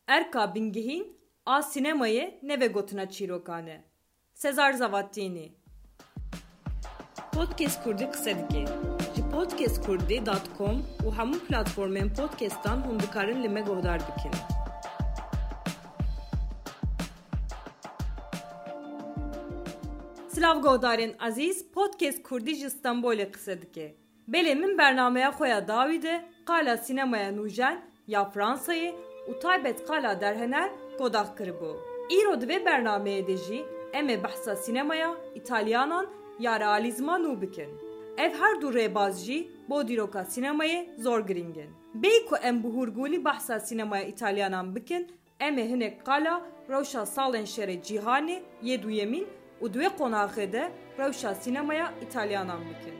Erka bingihîn a sinemayê neve gotina çîrokan e. Sezar Zavattînî. Podcast Kurdî qise dike. Ji podcastkurdî.com û hemû platformên podcastan hûn dikarin li me guhdar bikin. Silav guhdarên ezîz, Podcast Kurdî ji Stenbolê qise dike. Belê min bernameya xwe ya dawî de qala sînemaya nûjen ya Fransayê û taybet qala derhener godax kiribû. Îro di vê bernameyê de jî em ê behsa sînemaya İtalyanan ya realîzma nû bikin. Ev her du rêbaz jî bo dîroka sînemayê zor giring in. Bêyî ku em bi hûrgûlî behsa sînemaya İtalyanan bikin, em ê hinek qala rewşa salên şerê cîhanê yê duyemîn û di wê qonaxê de rewşa sînemaya İtalyanan bikin.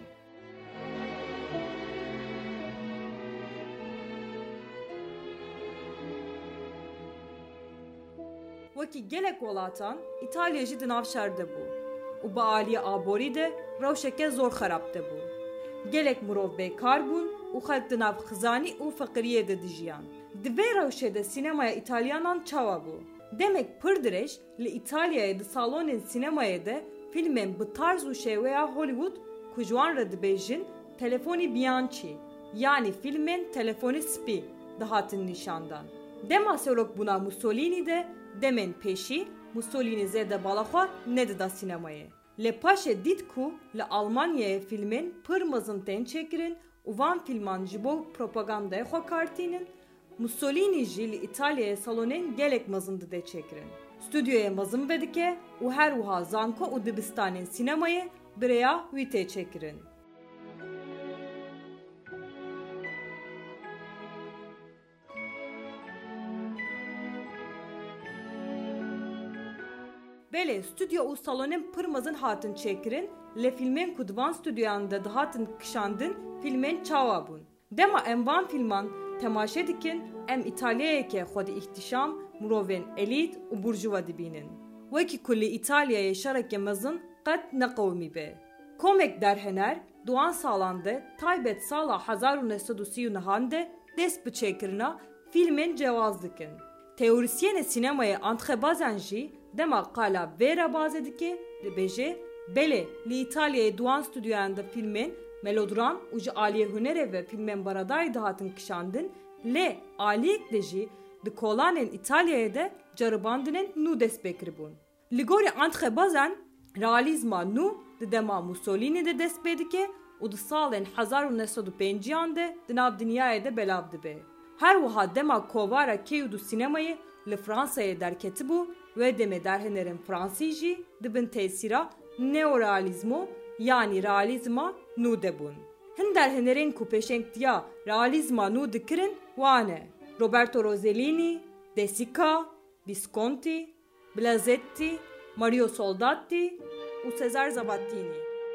Wekî gelek welatan, İtalya jî di navşer de bû û bi aliyê aborî de rewşeke zor xerab de bû. Gelek mirov bêkar bûn û xelk di nav xizanî û feqiriyê de dijiyan. Di vê rewşê de sînemaya İtalyanan çawa bû. Demek pir dirêj li İtalyayê di salonên sînemayê de filmên bi tarz û şêweya Hollywood ku ji wan re dibêjin telefonî Bianchi yanî filmên telefonî spî dihatin nîşandan. Dema serokbûna Mussolini de demên pêşî Mussolini zêde balaxwe nedida sînemayê. Lê paşê dît ku li Almanyayê filmên pir mezin tên çêkirin û van filman ji bo propagandayê xwe kartînin, Mussolini jî li İtalyayê salonên gelek mezin dide çêkirin. Stüdyoyê mezin vedike û her wiha zanko û dibistanên sînemayê birêya wî tê çêkirin. Belê stüdyo û salonên pir mezin hatin çêkirin, lê filmên ku di van stüdyoyan de dihatin kişandin filmên çawa bûn. Dema em van filman temaşe dikin, em İtalyayeke xwe di îhtişam, mirovên elît û burjuva dibînin. Wekî ku li İtalyayê şereke mezin qet neqewimî be. Komek derhener, duan salan de taybet sala 1939 de dest bi çêkirina filmên cewaz dikin. Teorisyenê sînemayê antxebazan jî dema qala vê re bazê dike dibêje belê li İtalyayê duan stüdyoyan de filmên melodram û ji aliyê hunerê ve filmên baradayê dihatin kişandin, lê aliyek de jî di kolanên İtalyayê de ceribandinên nû dest pê kiribûn. Li gorî antxebazan realîzma nû di dema Mussolini de dest pê dike û di salên 1905 de di nav dinyayê de belav dibe. Her wiha dema kovara kêw du sînemayê li Fransayê derketibû ve demê derhenerên Fransî jî dibin tesîra neorealîzmo yanî realîzma nû debûn. Hin derhenerên ku pêşengtiya realîzma nû dikirin wan e: Roberto Rossellini, De Sica, Visconti, Blazetti, Mario Soldati û Cesare Zavattini.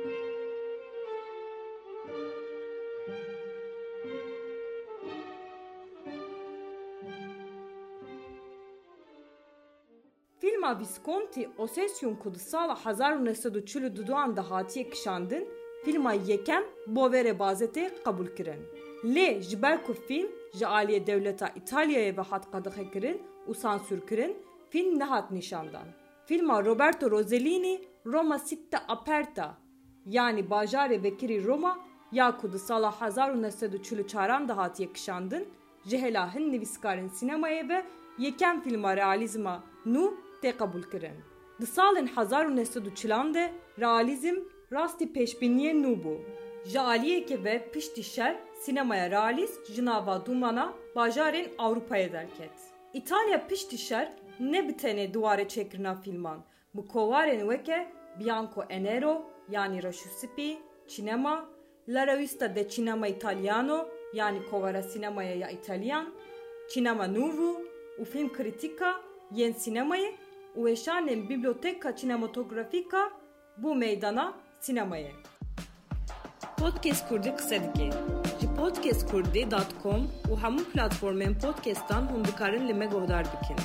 Filma Visconti Ossession ku di sala 1942 da hatiye kişandin, filma yekem bo vê rêbazetê qebûl kirin. Lê ji ber ku film ji aliyê dewleta İtalyayê ve hat qedexekirin û sansûr kirin, film nehat nîşandan. Filma Roberto Rossellini Roma Sitte Aperta yanî bajarê vekirî Roma ya ku di sala 1944 da hatiye kişandin, ji hela hin nivîskarên sînemayê ve yekem filma realîzma nû tê qebûl kirin. Di salên 1940 de realîzm rastî pêşbîniyê nû bû. Ji aliyeke ve piştî şer sînemaya realîst ji nava dumana bajarên Awropayê derket. İtalya piştî şer ne bi tenê duwarê çêkirina filman, bi kovarên weke Bianco e Nero yanî reşûspî, çînema, La Revista de Cinema Italiano yanî kovara sînemaya ya İtalyan, Cinema Nuovo û film kritika yên sînemayê û êşanên Biblioteka Cinematografîka bû meydana sînemayê. Podcast Kurdî qise dike. Ji podcastkurdî.com û hemû platformên podcastan hûn dikarin li me guhdar bikin.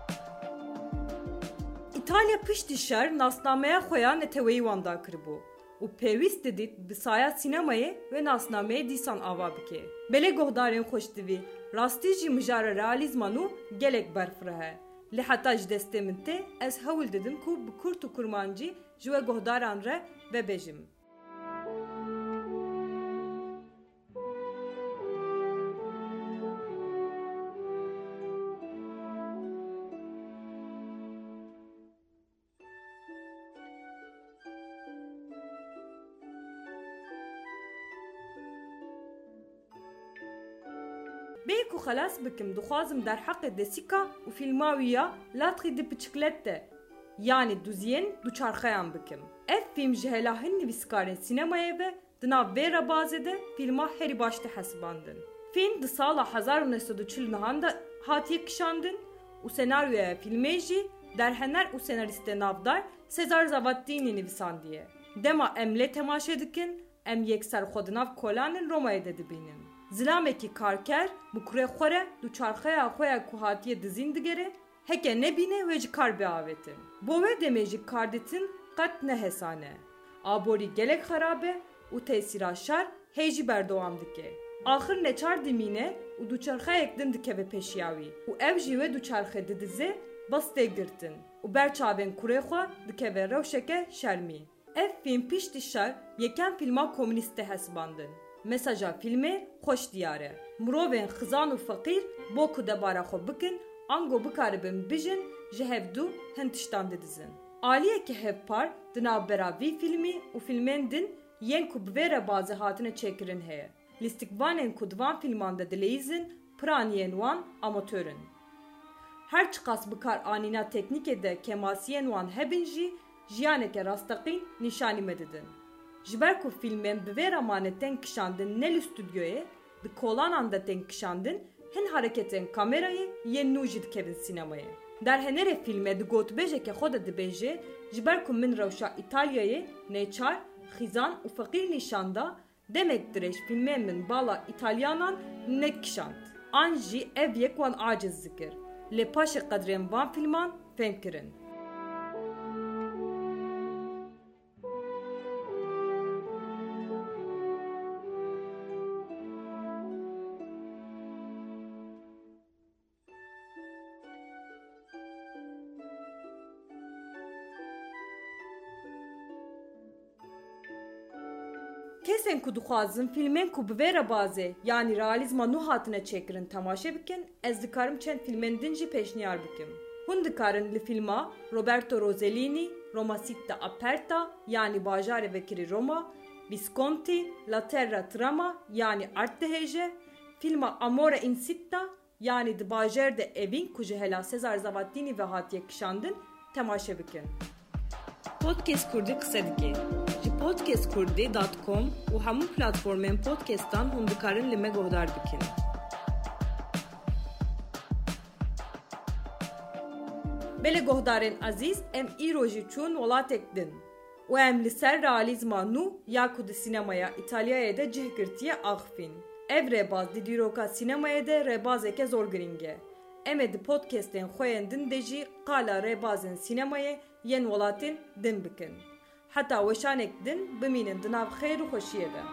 İtalya piştî şer nasnameya xwe ya neteweyî wan da kiribû. û pêwîst didît bi saya sînemayê ve nasnameyê dîsan ava bike. Belê guhdarên xweş divî, rastî jî mijara realîzman û gelek berfireh e. Li heta ji destê min tê ez hewil didim ku bi Kurt û Kurmancî ji we guhdaran re vebêjim. Bê ku xelas bikim dixwazim derheqê desîka û fîlma wî ya latrî di piçiklet de yanî duziyên duçarxeyan bikim. Ev fîlm ji hela hin nivîskarên sînemayê ve di nav vê rebazê de fîlma herî baş tê hesibandin. Fîlm di sala 1940 nihan de hatiye kişandin û senaryoya fîlmê jî derhener û senarîstê navdar Sezar Zavattînî nivîsandiye. Dema em lê temaşe dikin, em yekser xwe di nav kolanên Romayê de dibînin. Zilamekî karker bi kurê xwe re duçarxeya xwe ya ku hatiye dizîn digere, heke nebîne ve ji kar biavetin. Bo wê demê jî kardîtin qet nehesane. Aborî gelek xerabe û tesîra şer hê jî berdewam dike. Axir neçar dimîne û duçarxeyek din dikeve peşiya wî û ev jî wê duçarxe didize bas tê girtin û ber çavên kurê xwe dikeve rewşeke şermî. Ev fîlm piştî şer yekem fîlma komünîst te hesibandin. Mesaja filmê xweş diyar e. Mirovên xizan û feqîr bo ku debara xwe bikin, ango bikaribin bijin ji hevdû hin tiştan didizin. Aliyekî hevpar di navbera vî fîlmî û filmên din yên ku bi vê rebazê hatine çêkirin heye. Lîstikvanên ku di van fîlman de dileyîzin, piraniyên wan amatörün. Her çiqas bikar anîna teknîkê de kemasiyên wan hebin jî jiyaneke rastaqîn nîşanî me didin. Ji ber ku fîlmên bi vê ramanê tên kişandin ne li stûdyoyê, di kolanan de tên kişandin, hin hareketên kamerayê yên nû jî dikevin sînemayê. Derhenerê fîlmê di gotbêjeke xwe de dibêje, ji ber ku min rewşa İtalyayê nêçar, xîzan û feqîr nîşanda, demek dirêj fîlmên min bala İtalyanan nekişand. An jî ev yek wan aciz zikir. Lê paşê qedrên van fîlman fêm kirin. Kesên ku dixwazin fîlmên ku bi vê rebazê yanî realîzma nû hatine çêkirin temaşe bikin, ez dikarim çend fîlmên din jî pêşniyar bikim. Hûn dikarin li fîlma Roberto Rossellini, Roma Sitta Aperta yanî bajarê vekirî Roma, Visconti, La Terra Trama yanî art dihêje, fîlma Amore in Sitta yanî di bajar de evîn ku ji hela Sezar Zavattînî ve hatiye kişandin temaşe bikin. Podcast Kurdî qise dike. podcastkurdî.com û hemû platformên podcastan hûn dikarin li me guhdar bikin. Belê guhdarên ezîz, em îro jî çûn welatek din û em li ser realîzma nû ya ku di sînemaya İtalyayê de cih girtiye axivîn. Ev rêbaz di dîroka sînemayê de rêbazeke zor giring e. Em ê di podcastên xwe yên din de jî qala rêbazên sînemayê yên welatên din bikin. Heta weşanek din bimînin di nav xêr û xweşiyê de.